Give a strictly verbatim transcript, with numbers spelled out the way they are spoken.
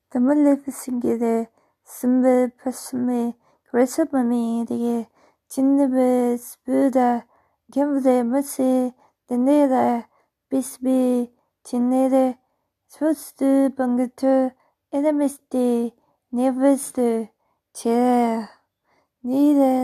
The Maleficent, Simba, Pasme, Gresabami, the Chinnabe, Buddha, Gamble, Mercy, the Nera, Bisbee, Chinere, Swastu, Bangatur, Edamisti, Nevestu, Chair, Neither.